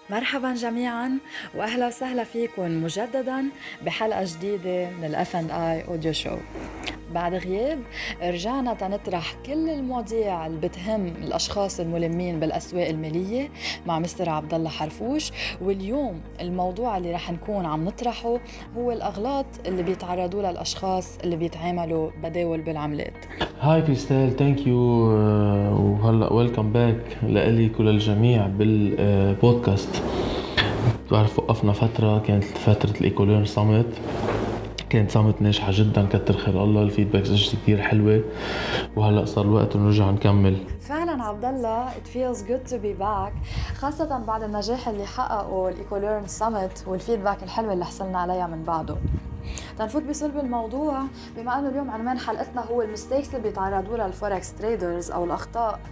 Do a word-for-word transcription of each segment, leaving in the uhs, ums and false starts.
مرحبا جميعا واهلا وسهلا فيكم مجددا بحلقه جديده من الاف اند اي اوديو شو. بعد غياب رجعنا تنطرح كل المواضيع اللي بتهم الاشخاص الملمين بالاسواق الماليه مع مستر عبد الله حرفوش. واليوم الموضوع اللي رح نكون عم نطرحه هو الاغلاط اللي بيتعرضوا لها الاشخاص اللي بيتعاملوا بداول بالعملات. هاي كريستال، ثانك يو وهلا ويلكم باك لإلك وللجميع بالبودكاست. بعرف وقفنا فترة، كانت فترة الإيكولير سامت، كانت سامت ناجحة جدا كتر خير الله، الفيدباكس اجت كتير حلوة، وهلا صار الوقت نرجع نكمل. فعلا عبد الله it feels good to be back، خاصة بعد النجاح اللي حققه الإيكوليرن سامت والفيدباك الحلوة اللي حصلنا عليها من بعده. تنفوت بصلب الموضوع، بما أنه اليوم عنوان حلقتنا هو المستيكس اللي بيتعرضوا لها الفوركس تريدرز أو الأخطاء.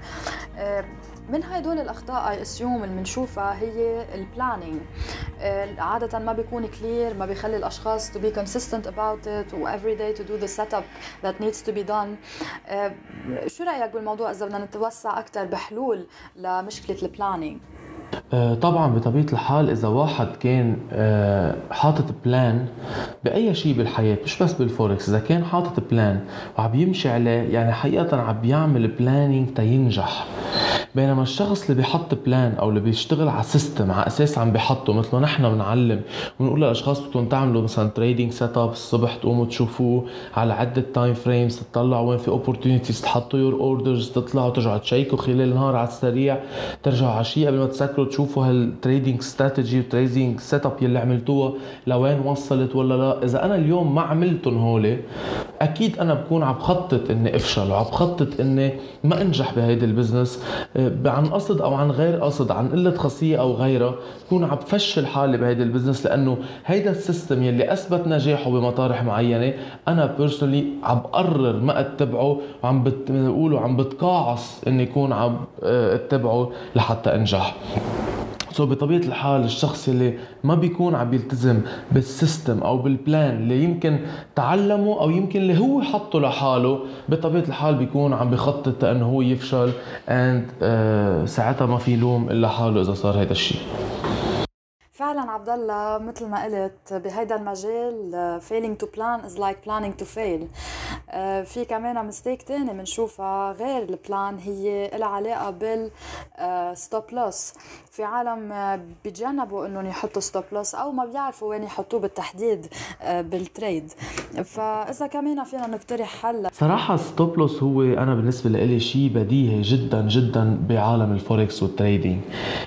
من هدول الأخطاء I assume اللي بنشوفها هي البلانينج. عادة ما بيكون كلير، ما بيخلي الأشخاص to be consistent about it و every day to do the setup that needs to be done. شو رأيك بالموضوع إذا بدنا نتوسع أكتر بحلول لمشكلة البلانينج؟ طبعا بطبيعة الحال إذا واحد كان حاطط بلان بأي شيء بالحياة، مش بس بالفوركس، إذا كان حاطط بلان وعم يمشي عليه، يعني حقيقة عم بيعمل بلانينج تينجح. بينما الشخص اللي بيحط بلان او اللي بيشتغل على سيستم على اساس عم بيحطه، مثل نحن بنعلم ونقول للاشخاص بدكم تعملوا مثلا تريدينج سيت اب الصبح، تقوموا تشوفوه على عده تايم فريمز، تطلعوا وين في اوبورتونيتيز، تحطوا يور اوردرز، تطلعوا ترجعوا تشيكوا خلال النهار على السريع، ترجعوا عشيه قبل ما تسكروا تشوفوا هالتريدينج استراتيجي والتريدينج سيت اب يلي عملتوها لوين وصلت ولا لا. اذا انا اليوم ما عملتهم هول، اكيد انا بكون عم بخطط اني افشل وعم بخطط اني ما انجح بهيدا البزنس عن قصد او عن غير قصد، عن قله خاصيه او غيرها، بكون عم بفشل حالي بهيدا البزنس، لانه هيدا السيستم يلي اثبت نجاحه بمطارح معينه انا بيرسونلي عم بقرر ما اتبعه، وعم بتقولوا عم بتقاعس اني يكون عم اتبعه لحتى انجح. سو بطبيعة الحال الشخص اللي ما بيكون عم يلتزم بالسيستم او بالبلان اللي يمكن تعلمه او يمكن اللي هو حطه لحاله، بطبيعة الحال بيكون عم بيخطط انه هو يفشل، and uh, ساعتها ما في لوم الا حاله اذا صار هيدا الشيء. فعلا عبد الله، مثل ما قلت بهيدا المجال failing to plan is like planning to fail. في كمان مستيك تاني بنشوفها غير البلان، هي لها علاقة بال stop loss. في عالم بيتجنبوا انهم يحطوا stop loss او ما بيعرفوا وين يحطوه بالتحديد بالتريد. فاذا كمان فينا نقترح حل. صراحة stop loss هو انا بالنسبة لي شيء بديهي جدا جدا بعالم الفوركس والتريدينج،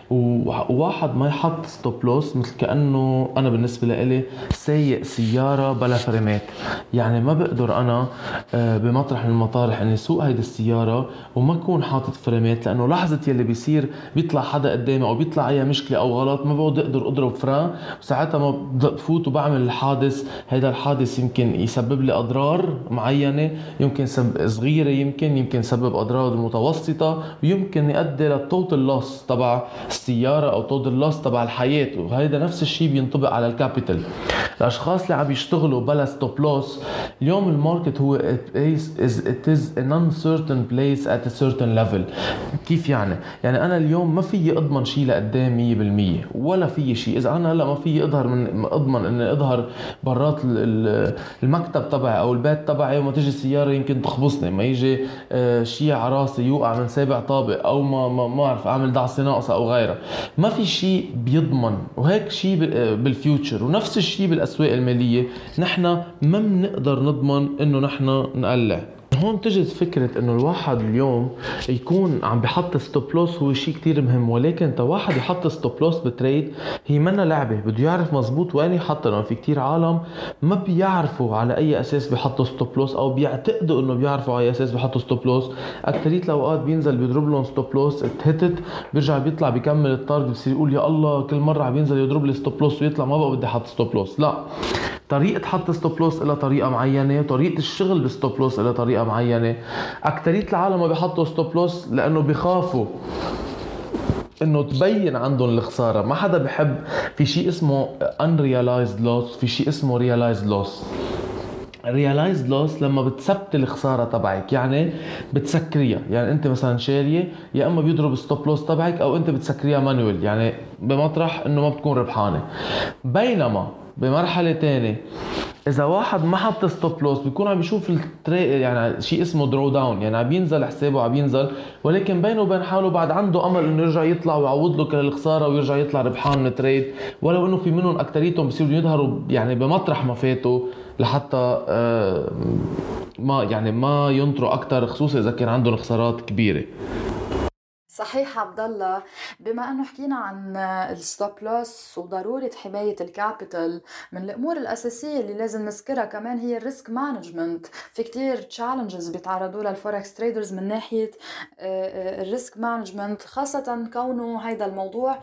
وواحد ما يحط stop loss مثل كأنه أنا بالنسبة لي سايق سيارة بلا فريمات. يعني ما بقدر أنا بمطرح من المطارح أني سوق هيدا السيارة وما أكون حاطط فريمات، لأنه لحظة يلي بيصير بيطلع حدا قدامي أو بيطلع أي مشكلة أو غلط ما بقدر أقدر أضرب فران، وساعتها ما بفوت وبعمل الحادث. هيدا الحادث يمكن يسبب لي أضرار معينة، يمكن سبب صغيرة، يمكن يمكن يسبب أضرار متوسطة، ويمكن يؤدي للتوتال لوس تبع السيارة أو توتال لوس تبع الحياة. وهيدا نفس الشيء بينطبق على الكابيتال. الاشخاص اللي عم يشتغلوا بلا ستوب لوس، اليوم الماركت هو it is, it is an uncertain place at a certain level. كيف يعني؟ يعني انا اليوم ما فيي اضمن شيء لقدام مية بالمية، ولا فيي شيء اذا انا هلا ما فيي اظهر من اضمن اني اظهر برات المكتب تبعي او البيت تبعي، وما تيجي سياره يمكن تخبصني، ما يجي شيء على راسي يوقع من سابع طابق، او ما ما ما اعرف اعمل دعسه ناقصه او غيرها. ما في شيء بيضمن، وهيك شيء بالفيوتشر. ونفس الشيء بالاسواق الماليه، نحن ما بنقدر نضمن انه نحن نقلع. هون تجد فكرة انه الواحد اليوم يكون عم بحط ستوب لوس هو شيء كتير مهم، ولكن تا واحد يحط ستوب لوس بتريد هي منا لعبة، بده يعرف مزبوط وين يحط. لأنه في كتير عالم ما بيعرفوا على اي اساس بيحطوا ستوب لوس، او بيعتقدوا انه بيعرفوا على اي اساس بيحطوا ستوب لوس. اكترية الاوقات بينزل بيضرب لهم ستوب لوس، اتهتت بيرجع بيطلع بيكمل التارجت، بصير يقول يا الله كل مرة عم بينزل يضرب لي ستوب لوس ويطلع ما بقى بدي احط ستوب لوس. لا، طريقة حط ستوب لوس إلى طريقة معينة، وطريقة الشغل بستوب لوس إلى طريقة معينة. أكترية العالم ما بيحطوا ستوب لوس لأنه بيخافوا انه تبين عندهم الخساره. ما حدا بحب، في شيء اسمه unrealized loss، في شيء اسمه realized loss. realized loss لما بتثبت الخسارة تبعك، يعني بتسكريها. يعني انت مثلا شارية، يا اما بيضرب ستوب لوس تبعك او انت بتسكريها مانويل، يعني بمطرح انه ما بتكون ربحانة. بينما بمرحلة تانية اذا واحد ما حط ستوب لوس بيكون عم يشوف التري، يعني شيء اسمه درو داون، يعني عم ينزل حسابه، عم ينزل، ولكن بينه وبين حاله بعد عنده امل انه يرجع يطلع ويعوض له كل الخساره ويرجع يطلع ربحان من التريد، ولو انه في منهم اكثريتهم بيصيروا يظهروا يعني بمطرح ما فاتوا لحتى آه ما يعني ما ينطروا اكثر، خصوصا اذا كان عندهم خسارات كبيره. صحيح عبد الله. بما انه حكينا عن الستوب لوس وضروره حمايه الكابيتال، من الامور الاساسيه اللي لازم نذكرها كمان هي الريسك مانجمنت. في كتير تشالنجز بيتعرضوا لها الفوركس تريدرز من ناحيه الريسك مانجمنت، خاصه كونه هيدا الموضوع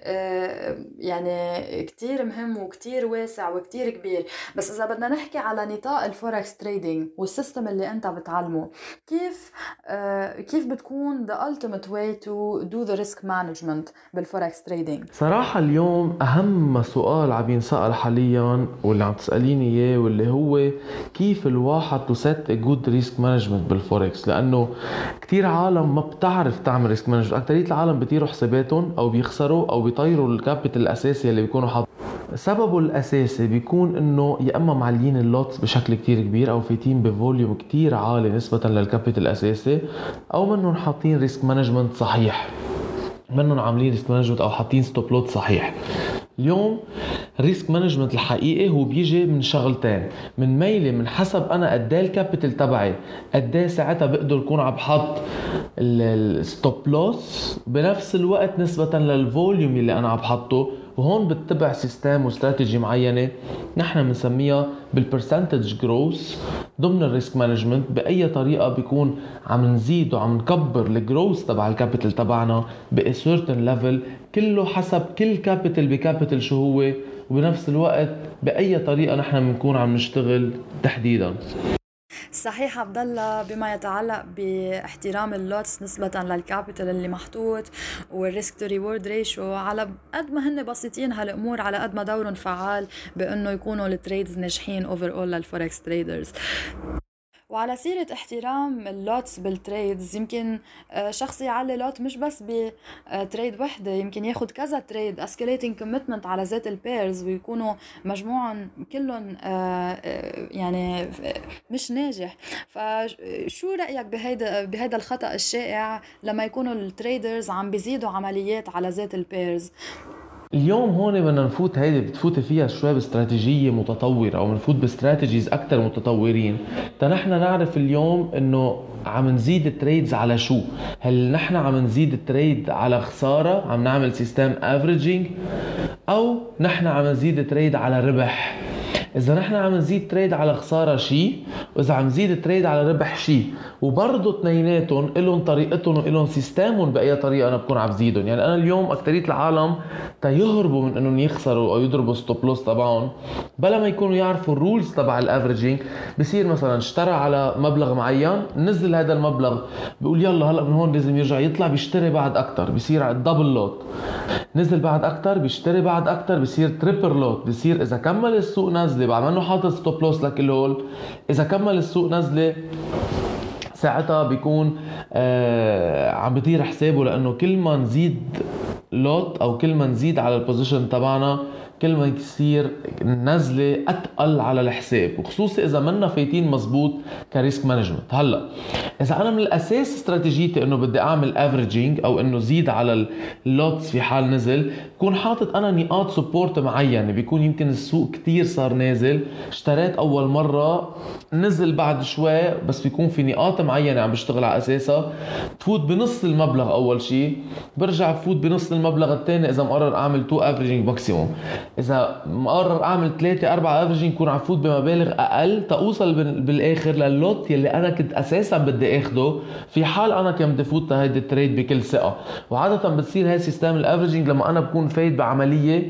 يعني كتير مهم وكتير واسع وكتير كبير. بس اذا بدنا نحكي على نطاق الفوركس تريدينج والسيستم اللي انت بتعلمه، كيف كيف بتكون the ultimate way to do the risk management بالفوركس تريدينج؟ صراحة اليوم أهم سؤال عم ينسأل حاليا واللي عم تسأليني إياه، واللي هو كيف الواحد to set a good risk management بالفوركس. لأنه كتير عالم ما بتعرف تعمل ريسك مانجمنت. أكترية العالم بيطيروا حساباتهم أو بيخسروا أو بيطيروا الكابيتال الأساسي اللي بيكونوا حاطين. سببه الأساسي بيكون إنه يا إما معلين اللوتس بشكل كتير كبير أو فايتين بفوليوم كتير عالي نسبة للكابيتال الأساسي، أو منهم حاطين ريسك مانجمنت صحيح، منهم عاملين ريسك مانجمنت أو حاطين ستوب لوت صحيح. اليوم الريسك مانجمنت الحقيقي هو بيجي من شغلتين، من ميلي من حسب انا قد ايه الكابيتال تبعي، قد ايه ساعتها بقدر اكون عم بحط الستوب لوس، بنفس الوقت نسبه للفوليوم اللي انا عم بحطه. وهون بتتبع سيستم واستراتيجي معينه نحن بنسميها بالبرسنتج جروث ضمن الريسك مانجمنت. باي طريقه بيكون عم نزيد وعم نكبر الجروث تبع الكابيتال تبعنا ب certain level، كله حسب كل كابيتال بكابيتال شو هو، وبنفس الوقت باي طريقه نحن بنكون عم نشتغل تحديدا. صحيح عبد الله. بما يتعلق باحترام اللوتس نسبة للكابيتال اللي محطوط والريسك تو ريورد ريشيو، على قد ما هن بسيطين هالامور على قد ما دورهم فعال بانه يكونوا التريدز ناجحين اوفر اول للفوركس تريدرز. وعلى سيرة احترام اللوتس بالتريدز، يمكن شخص يعلي لوت مش بس بتريد وحدة، يمكن ياخد كذا تريد اسكيليتنج كوميتمنت على ذات البيرز ويكونوا مجموعا كلهم يعني مش ناجح. فشو رأيك بهيدا بهيدا الخطأ الشائع لما يكونوا التريدرز عم بيزيدوا عمليات على ذات البيرز؟ اليوم هون بدنا نفوت، هيدي بتفوت فيها شوي باستراتيجية متطورة او بنفوت باستراتيجيز اكتر متطورين، تنحن نعرف اليوم انه عم نزيد التريدز على شو. هل نحن عم نزيد التريد على خسارة عم نعمل سيستم افريجينج، او نحن عم نزيد التريد على ربح؟ اذا نحن عم نزيد تريد على خساره شيء، واذا عم نزيد تريد على ربح شيء، وبرضه اثنيناتهم لهم طريقتهم ولهم سيستمهم باي طريقه انا بكون عم بزيدهم. يعني انا اليوم اكثريه العالم تيهربوا من انهم يخسروا او يضربوا ستوب لوس تبعهم بلا ما يكونوا يعرفوا الرولز تبع الافريجينج. بصير مثلا اشترى على مبلغ معين، نزل هذا المبلغ، بيقول يلا هلا من هون لازم يرجع يطلع بيشتري بعد اكثر، بيصير على الدبل لوت. نزل بعد اكثر بيشتري بعد اكثر، بيصير تريبل لوت. بيصير اذا كمل السوق نزله بعد ما انه حاطط ستوب لوس لكل هول، اذا كمل السوق نزله ساعتها بيكون آه عم بيطير حسابه، لانه كل ما نزيد لوت او كل ما نزيد على البوزيشن تبعنا كل ما يصير نزله اتقل على الحساب، وخصوصي اذا منا فايتين مزبوط كريسك مانجمنت. هلا اذا انا من الاساس استراتيجيتي انه بدي اعمل افريجينج او انه زيد على اللوتس في حال نزل، بكون حاطط انا نقاط سبورت معينه. بيكون يمكن السوق كتير صار نازل، اشتريت اول مره نزل بعد شوي، بس بيكون في نقاط معينه عم بشتغل على اساسها. بفوت بنص المبلغ اول شيء، برجع بفوت بنص المبلغ الثاني اذا مقرر اعمل اتنين افريجينج ماكسيموم. اذا مقرر اعمل ثلاثة أربعة افريجينج كون عم فوت بمبالغ اقل توصل بالاخر لللوت يلي انا كنت اساسا بدي اخده في حال انا كنت بدي فوت هيدي التريد بكل ثقه. وعاده بتصير هاي سيستم الافريجينج لما انا بكون فايت بعمليه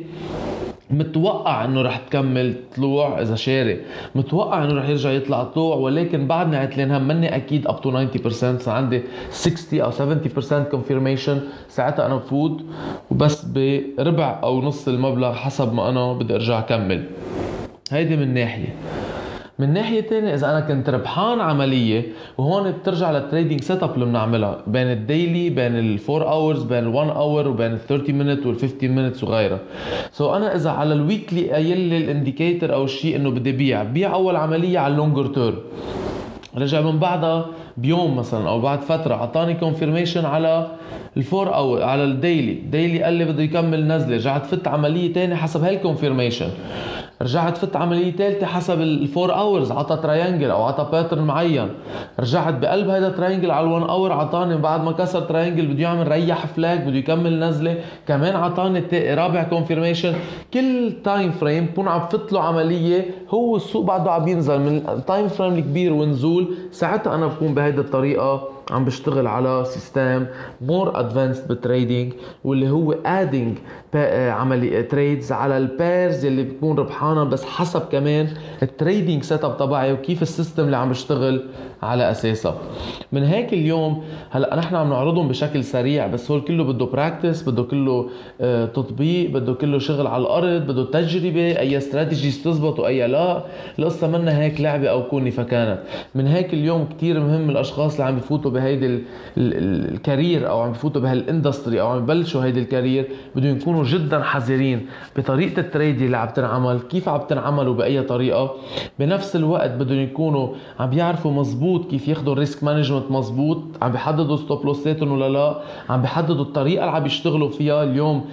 متوقع انه رح تكمل طلوع، اذا شاري متوقع انه رح يرجع يطلع طلوع، ولكن بعدني عتلين هم مني اكيد up to ninety percent، صار عندي sixty او seventy percent confirmation. ساعتها انا بفوت وبس بربع او نص المبلغ حسب ما انا بدي ارجع اكمل. هيدي من ناحيه. من ناحية تانية إذا أنا كنت ربحان عملية، وهون بترجع للتريدينج سيت اب اللي بنعملها بين الديلي، بين الفور اورز، بين الوان اور، وبين الثيرتي مينت والفيفتين مينتس وغيرها. سو so أنا إذا على الويكلي قايل لي الانديكيتر أو الشيء إنه بدي بيع بيع أول عملية على اللونجر تيرم، رجع من بعدها بيوم مثلا أو بعد فترة عطاني كونفيرميشن على الفور او على الديلي، ديلي قال لي بده يكمل نزله، رجعت فت عمليه تاني حسب هالكونفيرميشن، رجعت فت عمليه ثالثه حسب الفور اورز عطى تراينجل او عطى باترن معين، رجعت بقلب هذا تراينجل على الون اور عطاني بعد ما كسر تراينجل بده يعمل ريح فلاج بده يكمل نزله، كمان عطاني رابع كونفيرميشن. كل تايم فريم بكون عم فت له عمليه، هو السوق بعده عم ينزل من التايم فريم الكبير ونزول، ساعتها انا بكون بهيدي الطريقه عم بشتغل على سيستم مور ادفانسد بالتريدينج، واللي هو ادينج عمليه تريدز على البيرز اللي بتكون ربحانه، بس حسب كمان التريدينج سيت اب تبعي وكيف السيستم اللي عم بشتغل على اساسها. من هيك اليوم هلا نحن عم نعرضهم بشكل سريع، بس هو كله بده براكتس، بده كله آه تطبيق، بده كله شغل على الارض، بده تجربه، اي استراتيجي تزبط واي لا. القصه منا هيك لعبه او كوني فكانت. من هيك اليوم كتير مهم الاشخاص اللي عم بفوتوا بهيدي الكارير او عم بفوتوا بهالاندستري او عم ببلشوا هيدي الكارير بدهم يكونوا جدا حذرين بطريقه التريد اللي عم تنعمل، كيف عم تنعمل وباي طريقه. بنفس الوقت بدهم يكونوا عم بيعرفوا مزبوط كيف ياخذوا الريسك مانجمنت مزبوط، عم بيحددوا ستوب لوساتهم ولا لا، عم بيحددوا الطريقه اللي عم بيشتغلوا فيها. اليوم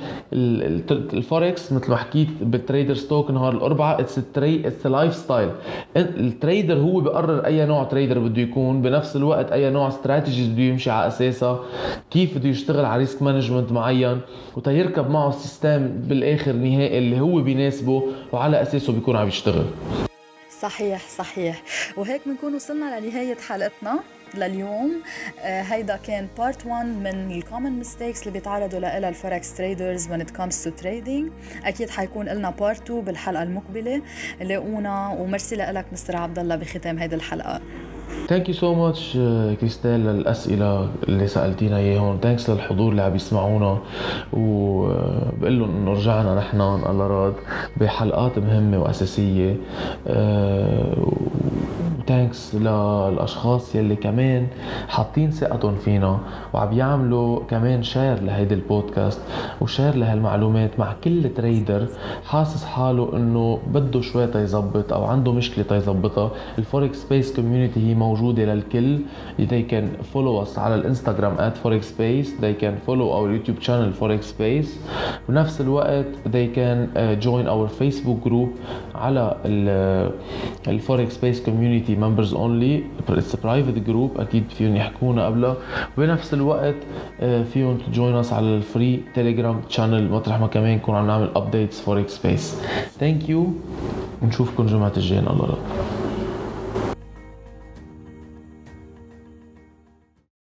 الفوركس مثل ما حكيت بالتريدر ستوك نهار الاربعاء اتس تري اتس لايف ستايل. التريدر هو بيقرر اي نوع تريدر بده يكون، بنفس الوقت اي نوع استراتيجيز بده يمشي على اساسها، كيف بده يشتغل على ريسك مانجمنت معين، وتيركب معه السيستم بالاخر نهائي اللي هو بيناسبه وعلى اساسه بيكون عم يشتغل. صحيح صحيح. وهيك بنكون وصلنا لنهاية حلقتنا لليوم. آه هيدا كان بارت واحد من الكومن ميستيكس اللي بيتعرضوا لها الفوركس تريدرز when it comes to trading. اكيد حيكون لنا بارت اتنين بالحلقة المقبلة. لاقونا ومرسي لك مستر عبد الله بختام هيدي الحلقة. Thank you so much كريستال للأسئلة اللي سألتينا إياهم. Thanks للحضور اللي عم يسمعونا، وبقول لهم إنه رجعنا نحن الله راد بحلقات مهمة وأساسية. Thanks للأشخاص يلي كمان حاطين ثقتهم فينا وعم يعملوا كمان شير لهيدي البودكاست وشير لهالمعلومات مع كل تريدر حاسس حاله إنه بده شوي تيزبط أو عنده مشكلة تيزبطها. الفوركس سبيس كوميونيتي هي موجودة للكل. They can follow us على الانستغرام at forex space. They can follow our YouTube channel forex space. بنفس الوقت they can uh, join our Facebook group على ال forex space community members only. It's a private group أكيد فيهم يحكونا قبلها. وبنفس الوقت uh, فيهم join us على الفري تيليجرام channel مطرح ما كمان نكون عم نعمل updates forex space. Thank you ونشوفكم جمعة الجاية الله رب.